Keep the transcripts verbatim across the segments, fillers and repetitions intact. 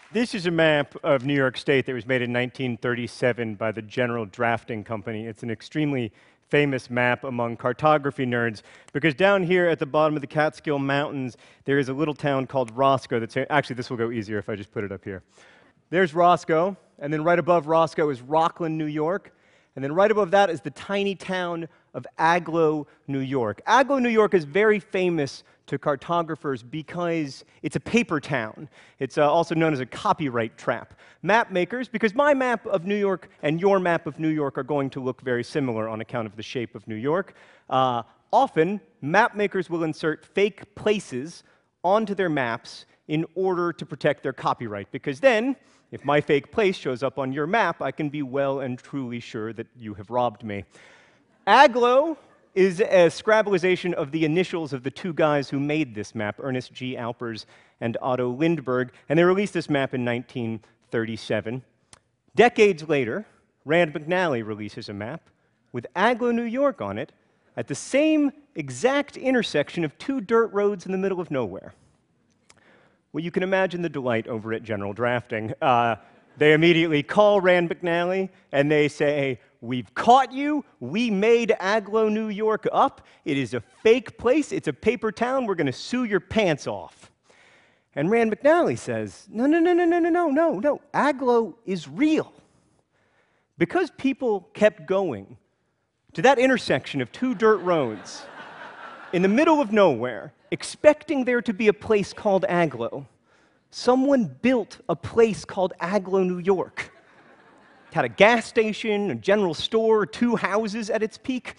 This is a map of New York State that was made in nineteen thirty-seven by the General Drafting Company. It's an extremely famous map among cartography nerds because down here at the bottom of the Catskill Mountains, there is a little town called Roscoe that's, actually this will go easier if I just put it up here. There's Roscoe, and then right above Roscoe is Rockland, New York, and then right above that is the tiny town of Agloe, New York. Agloe, New York is very famous to cartographers because it's a paper town. It's uh, also known as a copyright trap. Map makers, because my map of New York and your map of New York are going to look very similar on account of the shape of New York, uh, often map makers will insert fake places onto their maps in order to protect their copyright, because then, if my fake place shows up on your map, I can be well and truly sure that you have robbed me. Agloe is a Scrabbleization of the initials of the two guys who made this map, Ernest G. Alpers and Otto Lindbergh, and they released this map in nineteen thirty-seven. Decades later, Rand McNally releases a map with Agloe, New York on it at the same exact intersection of two dirt roads in the middle of nowhere. Well, you can imagine the delight over at General Drafting. Uh, they immediately call Rand McNally, and they say, "We've caught you. We made Agloe, New York up. It is a fake place. It's a paper town. We're going to sue your pants off." And Rand McNally says, no, no, no, no, no, no, no, no, no. Agloe is real. Because people kept going to that intersection of two dirt roads in the middle of nowhere, expecting there to be a place called Agloe, someone built a place called Agloe, New York. It had a gas station, a general store, two houses at its peak.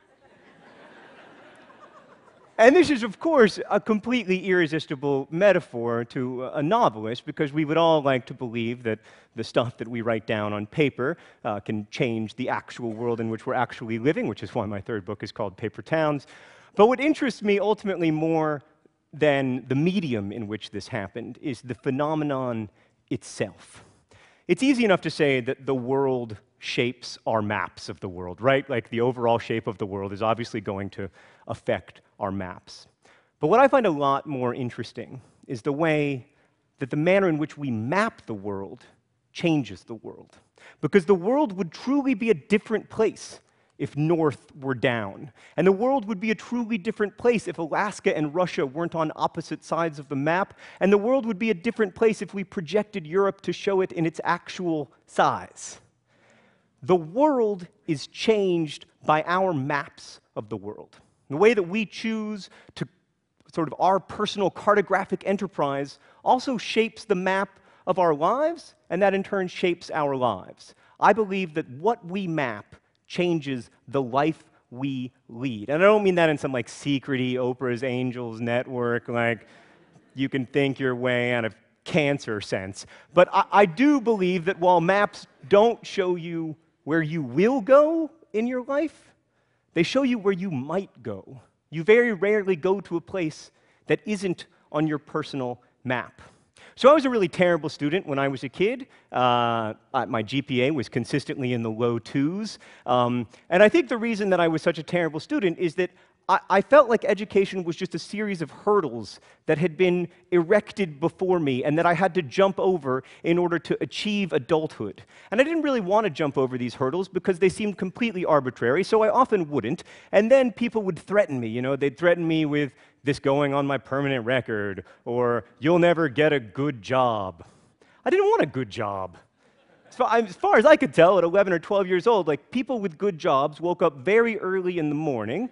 And this is, of course, a completely irresistible metaphor to a novelist, because we would all like to believe that the stuff that we write down on paper uh, can change the actual world in which we're actually living, which is why my third book is called Paper Towns. But what interests me ultimately more than the medium in which this happened is the phenomenon itself. It's easy enough to say that the world shapes our maps of the world, right? Like the overall shape of the world is obviously going to affect our maps. But what I find a lot more interesting is the way that the manner in which we map the world changes the world. Because the world would truly be a different place if North were down. And the world would be a truly different place if Alaska and Russia weren't on opposite sides of the map. And the world would be a different place if we projected Europe to show it in its actual size. The world is changed by our maps of the world. The way that we choose to sort of our personal cartographic enterprise also shapes the map of our lives, and that in turn shapes our lives. I believe that what we map changes the life we lead. And I don't mean that in some like secrety Oprah's Angels network, like you can think your way out of cancer sense. But I, I do believe that while maps don't show you where you will go in your life, they show you where you might go. You very rarely go to a place that isn't on your personal map. So I was a really terrible student when I was a kid. Uh, my G P A was consistently in the low twos. Um, and I think the reason that I was such a terrible student is that I, I felt like education was just a series of hurdles that had been erected before me and that I had to jump over in order to achieve adulthood. And I didn't really want to jump over these hurdles because they seemed completely arbitrary, so I often wouldn't. And then people would threaten me. You know, they'd threaten me with this going on my permanent record, or you'll never get a good job. I didn't want a good job. As far, as far as I could tell, at eleven or twelve years old, like people with good jobs woke up very early in the morning.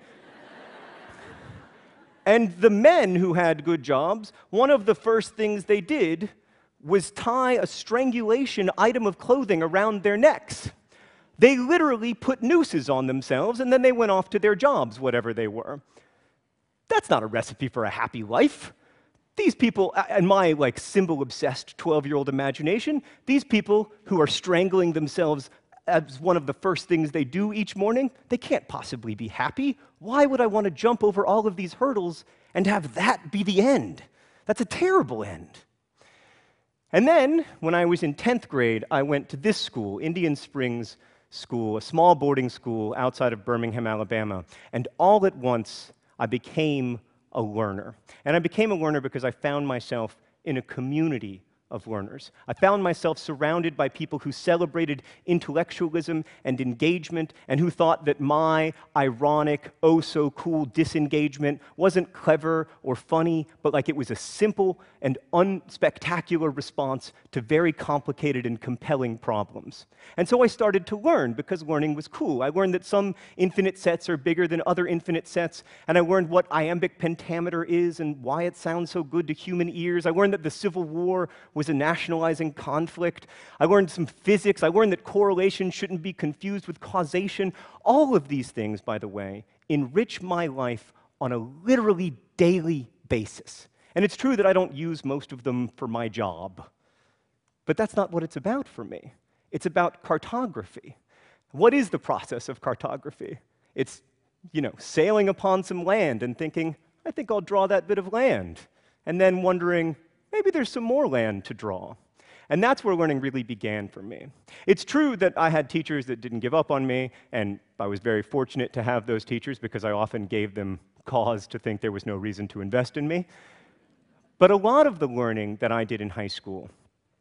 And the men who had good jobs, one of the first things they did was tie a strangulation item of clothing around their necks. They literally put nooses on themselves, and then they went off to their jobs, whatever they were. That's not a recipe for a happy life. These people, in my like symbol-obsessed twelve-year-old imagination, these people who are strangling themselves as one of the first things they do each morning, they can't possibly be happy. Why would I want to jump over all of these hurdles and have that be the end? That's a terrible end. And then, when I was in tenth grade, I went to this school, Indian Springs School, a small boarding school outside of Birmingham, Alabama. And all at once, I became a learner. And I became a learner because I found myself in a community of learners. I found myself surrounded by people who celebrated intellectualism and engagement and who thought that my ironic, oh-so-cool disengagement wasn't clever or funny, but like it was a simple and unspectacular response to very complicated and compelling problems. And so I started to learn because learning was cool. I learned that some infinite sets are bigger than other infinite sets, and I learned what iambic pentameter is and why it sounds so good to human ears. I learned that the Civil War was a nationalizing conflict. I learned some physics. I learned that correlation shouldn't be confused with causation. All of these things, by the way, enrich my life on a literally daily basis. And it's true that I don't use most of them for my job. But that's not what it's about for me. It's about cartography. What is the process of cartography? It's, you know, sailing upon some land and thinking, I think I'll draw that bit of land. And then wondering, maybe there's some more land to draw. And that's where learning really began for me. It's true that I had teachers that didn't give up on me, and I was very fortunate to have those teachers because I often gave them cause to think there was no reason to invest in me. But a lot of the learning that I did in high school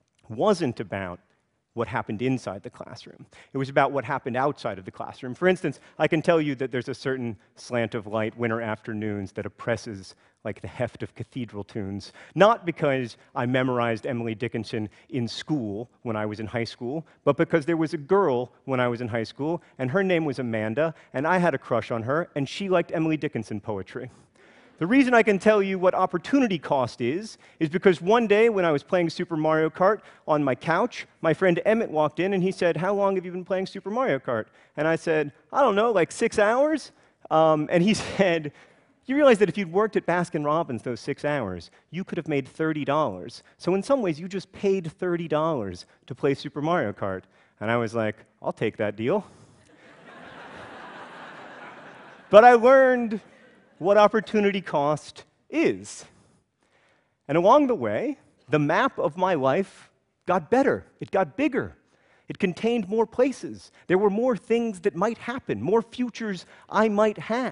wasn't about what happened inside the classroom. It was about what happened outside of the classroom. For instance, I can tell you that there's a certain slant of light winter afternoons that oppresses like the heft of cathedral tunes, not because I memorized Emily Dickinson in school when I was in high school, but because there was a girl when I was in high school, and her name was Amanda, and I had a crush on her, and she liked Emily Dickinson poetry. The reason I can tell you what opportunity cost is, is because one day when I was playing Super Mario Kart on my couch, my friend Emmett walked in and he said, how long have you been playing Super Mario Kart? And I said, I don't know, like six hours? Um, and he said, you realize that if you'd worked at Baskin-Robbins those six hours, you could have made thirty dollars. So in some ways, you just paid thirty dollars to play Super Mario Kart. And I was like, I'll take that deal. But I learned what opportunity cost is. And along the way, the map of my life got better. It got bigger. It contained more places. There were more things that might happen, more futures I might have.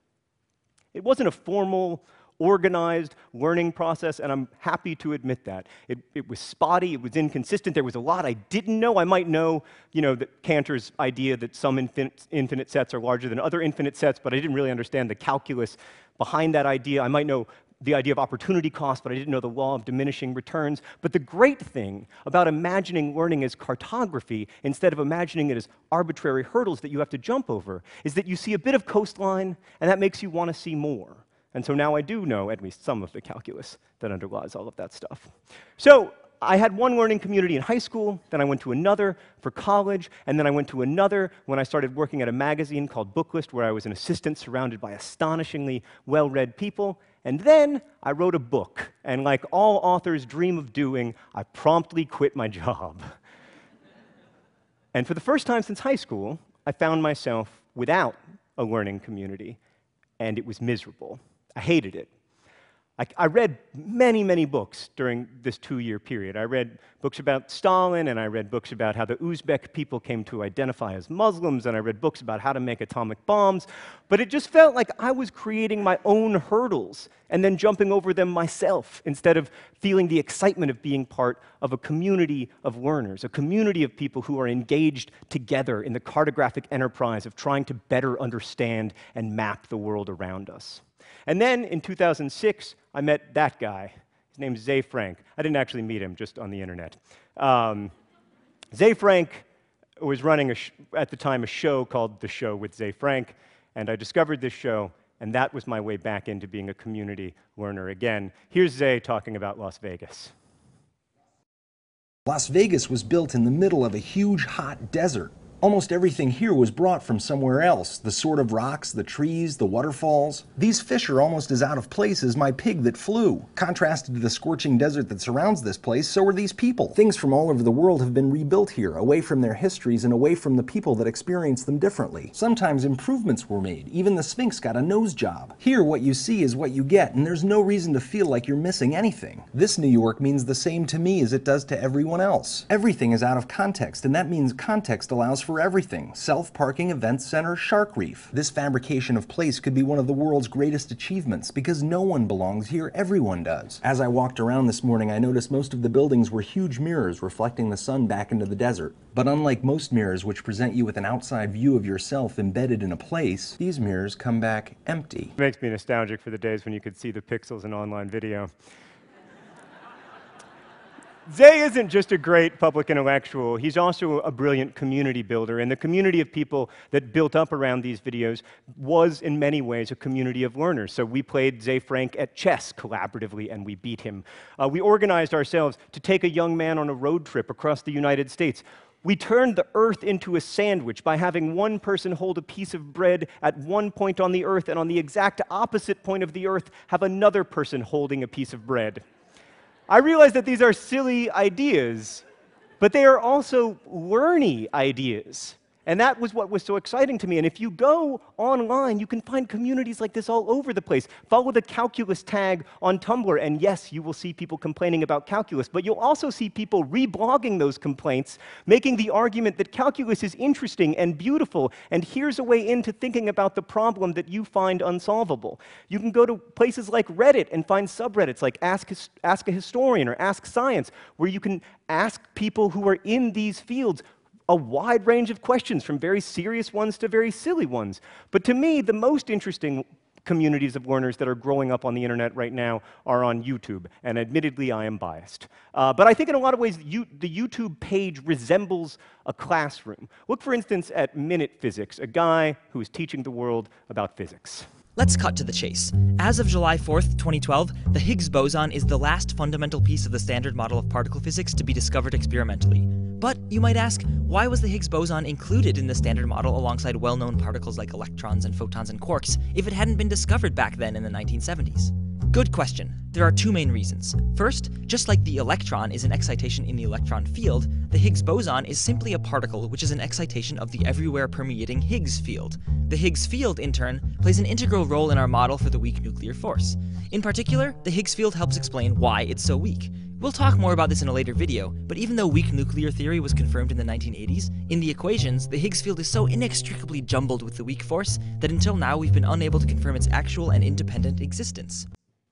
It wasn't a formal, organized learning process, and I'm happy to admit that. It, it was spotty, it was inconsistent, there was a lot I didn't know. I might know, you know, that Cantor's idea that some infinite, infinite sets are larger than other infinite sets, but I didn't really understand the calculus behind that idea. I might know the idea of opportunity cost, but I didn't know the law of diminishing returns. But the great thing about imagining learning as cartography, instead of imagining it as arbitrary hurdles that you have to jump over, is that you see a bit of coastline, and that makes you want to see more. And so now I do know at least some of the calculus that underlies all of that stuff. So I had one learning community in high school, then I went to another for college, and then I went to another when I started working at a magazine called Booklist, where I was an assistant surrounded by astonishingly well-read people. And then I wrote a book, and like all authors dream of doing, I promptly quit my job. And for the first time since high school, I found myself without a learning community, and it was miserable. I hated it. I, I read many, many books during this two-year period. I read books about Stalin, and I read books about how the Uzbek people came to identify as Muslims, and I read books about how to make atomic bombs. But it just felt like I was creating my own hurdles and then jumping over them myself instead of feeling the excitement of being part of a community of learners, a community of people who are engaged together in the cartographic enterprise of trying to better understand and map the world around us. And then in two thousand six, I met that guy. His name's Ze Frank. I didn't actually meet him, just on the internet. Um, Ze Frank was running, a sh at the time, a show called The Show with Ze Frank, and I discovered this show, and that was my way back into being a community learner again. Here's Ze talking about Las Vegas. Las Vegas was built in the middle of a huge, hot desert. Almost everything here was brought from somewhere else. The sort of rocks, the trees, the waterfalls. These fish are almost as out of place as my pig that flew. Contrasted to the scorching desert that surrounds this place, so are these people. Things from all over the world have been rebuilt here, away from their histories and away from the people that experience them differently. Sometimes improvements were made. Even the Sphinx got a nose job. Here, what you see is what you get, and there's no reason to feel like you're missing anything. This New York means the same to me as it does to everyone else. Everything is out of context, and that means context allows for for everything. Self-parking event center Shark Reef. This fabrication of place could be one of the world's greatest achievements because no one belongs here, everyone does. As I walked around this morning, I noticed most of the buildings were huge mirrors reflecting the sun back into the desert. But unlike most mirrors which present you with an outside view of yourself embedded in a place, these mirrors come back empty. It makes me nostalgic for the days when you could see the pixels in online video. Zay isn't just a great public intellectual, he's also a brilliant community builder, and the community of people that built up around these videos was, in many ways, a community of learners. So we played Zay Frank at chess collaboratively, and we beat him. Uh, we organized ourselves to take a young man on a road trip across the United States. We turned the earth into a sandwich by having one person hold a piece of bread at one point on the earth, and on the exact opposite point of the earth, have another person holding a piece of bread. I realize that these are silly ideas, but they are also learny ideas. And that was what was so exciting to me. And if you go online, you can find communities like this all over the place. Follow the calculus tag on Tumblr, and yes, you will see people complaining about calculus, but you'll also see people reblogging those complaints, making the argument that calculus is interesting and beautiful, and here's a way into thinking about the problem that you find unsolvable. You can go to places like Reddit and find subreddits like Ask, His- Ask a Historian or Ask Science, where you can ask people who are in these fields a wide range of questions, from very serious ones to very silly ones. But to me, the most interesting communities of learners that are growing up on the internet right now are on YouTube, and admittedly, I am biased. Uh, but I think in a lot of ways, you, the YouTube page resembles a classroom. Look, for instance, at Minute Physics, a guy who is teaching the world about physics. Let's cut to the chase. As of July fourth, twenty twelve, the Higgs boson is the last fundamental piece of the standard model of particle physics to be discovered experimentally. But you might ask, why was the Higgs boson included in the standard model alongside well-known particles like electrons and photons and quarks if it hadn't been discovered back then in the nineteen seventies? Good question. There are two main reasons. First, just like the electron is an excitation in the electron field, the Higgs boson is simply a particle which is an excitation of the everywhere permeating Higgs field. The Higgs field, in turn, plays an integral role in our model for the weak nuclear force. In particular, the Higgs field helps explain why it's so weak. We'll talk more about this in a later video, but even though weak nuclear theory was confirmed in the nineteen eighties, in the equations, the Higgs field is so inextricably jumbled with the weak force that until now we've been unable to confirm its actual and independent existence.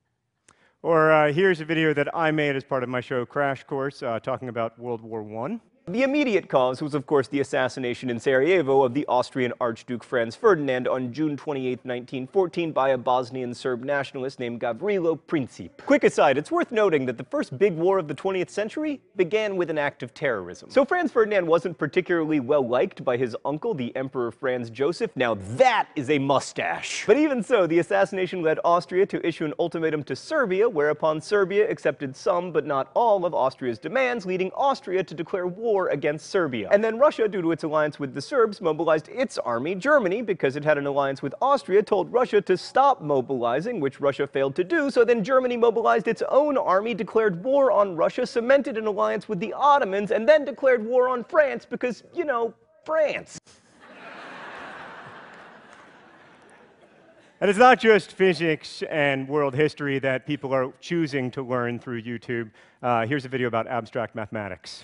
Or uh, here's a video that I made as part of my show Crash Course, uh, talking about World War One. The immediate cause was, of course, the assassination in Sarajevo of the Austrian Archduke Franz Ferdinand on June twenty-eighth, nineteen fourteen, by a Bosnian Serb nationalist named Gavrilo Princip. Quick aside, it's worth noting that the first big war of the twentieth century began with an act of terrorism. So Franz Ferdinand wasn't particularly well liked by his uncle, the Emperor Franz Joseph. Now that is a mustache. But even so, the assassination led Austria to issue an ultimatum to Serbia, whereupon Serbia accepted some, but not all, of Austria's demands, leading Austria to declare war against Serbia. And then Russia, due to its alliance with the Serbs, mobilized its army. Germany, because it had an alliance with Austria, told Russia to stop mobilizing, which Russia failed to do, so then Germany mobilized its own army, declared war on Russia, cemented an alliance with the Ottomans, and then declared war on France because, you know, France. And it's not just physics and world history that people are choosing to learn through YouTube. Uh, here's a video about abstract mathematics.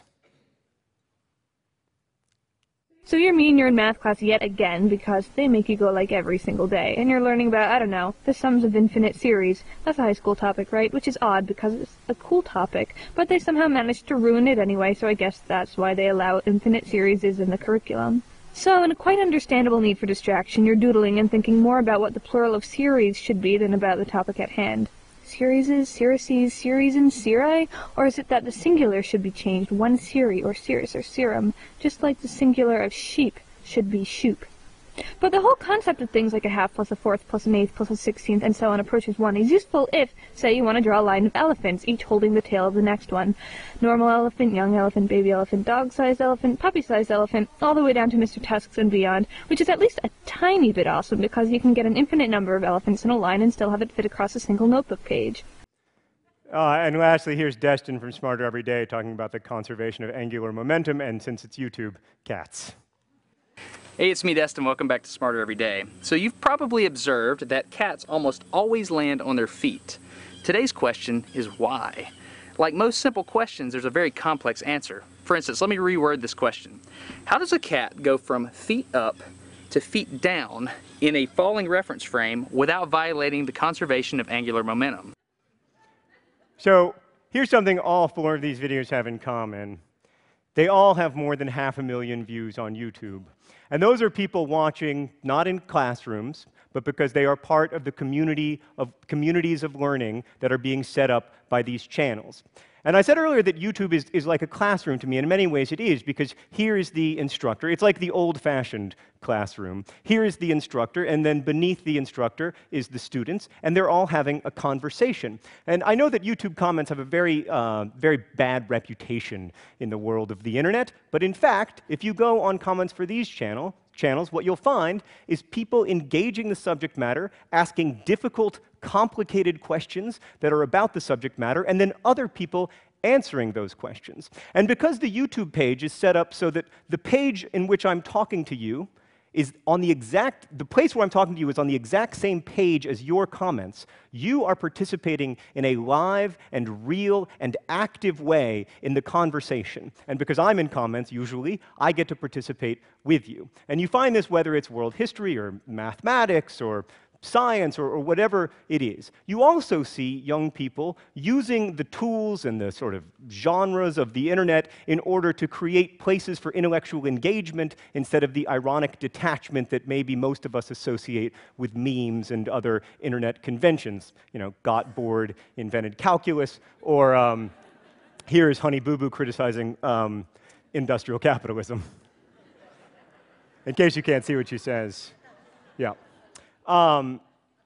So you're me and you're in math class yet again because they make you go like every single day, and you're learning about, I don't know, the sums of infinite series. That's a high school topic, right? Which is odd because it's a cool topic, but they somehow managed to ruin it anyway, so I guess that's why they allow infinite series in the curriculum. So, in a quite understandable need for distraction, you're doodling and thinking more about what the plural of series should be than about the topic at hand. Series, serices, series, and seri? Or is it that the singular should be changed, one seri, or cirrus, or serum, just like the singular of sheep should be shoop? But the whole concept of things like a half plus a fourth plus an eighth plus a sixteenth and so on approaches one is useful if, say, you want to draw a line of elephants, each holding the tail of the next one. Normal elephant, young elephant, baby elephant, dog-sized elephant, puppy-sized elephant, all the way down to Mister Tusk's and beyond, which is at least a tiny bit awesome because you can get an infinite number of elephants in a line and still have it fit across a single notebook page. Uh, and lastly, here's Destin from Smarter Every Day talking about the conservation of angular momentum, and since it's YouTube, cats. Hey, it's me, Destin. Welcome back to Smarter Every Day. So you've probably observed that cats almost always land on their feet. Today's question is why? Like most simple questions, there's a very complex answer. for instance, let me reword this question. How does a cat go from feet up to feet down in a falling reference frame without violating the conservation of angular momentum? So here's something all four of these videos have in common. They all have more than half a million views on YouTube. And those are people watching not in classrooms, but because they are part of the community of communities of learning that are being set up by these channels. And I said earlier that YouTube is, is like a classroom to me, and in many ways it is, because here is the instructor. It's like the old-fashioned classroom. Here is the instructor, and then beneath the instructor is the students, and they're all having a conversation. And I know that YouTube comments have a very, uh, very bad reputation in the world of the internet, but in fact, if you go on comments for these channel, channels, what you'll find is people engaging the subject matter, asking difficult, complicated questions that are about the subject matter, and then other people answering those questions. And because the YouTube page is set up so that the page in which I'm talking to you is on the exact, the place where I'm talking to you is on the exact same page as your comments, you are participating in a live and real and active way in the conversation. And because I'm in comments, usually, I get to participate with you. And you find this whether it's world history or mathematics or science or, or whatever it is. You also see young people using the tools and the sort of genres of the internet in order to create places for intellectual engagement instead of the ironic detachment that maybe most of us associate with memes and other internet conventions. You know, got bored, invented calculus, or um, here is Honey Boo Boo criticizing um, industrial capitalism. In case you can't see what she says. Yeah. Um,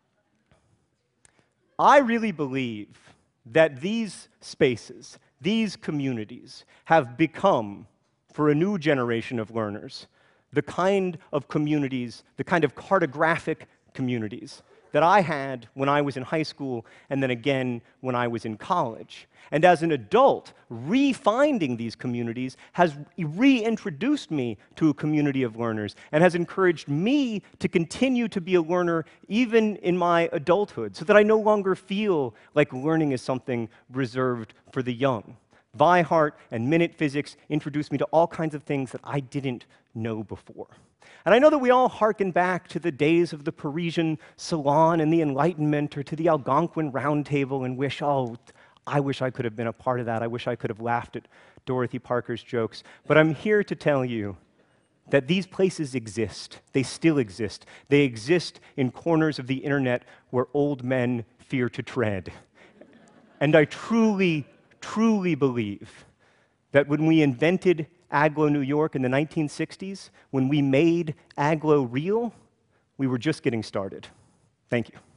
I really believe that these spaces, these communities, have become, for a new generation of learners, the kind of communities, the kind of cartographic communities that I had when I was in high school and then again when I was in college. And as an adult, re-finding these communities has reintroduced me to a community of learners and has encouraged me to continue to be a learner even in my adulthood, so that I no longer feel like learning is something reserved for the young. Vi-Heart and Minute Physics introduced me to all kinds of things that I didn't know before. And I know that we all hearken back to the days of the Parisian Salon and the Enlightenment, or to the Algonquin Round Table, and wish, oh, I wish I could have been a part of that. I wish I could have laughed at Dorothy Parker's jokes. But I'm here to tell you that these places exist. They still exist. They exist in corners of the internet where old men fear to tread. And I truly, truly believe that when we invented Agloe, New York in the nineteen sixties, when we made Agloe real, we were just getting started. Thank you.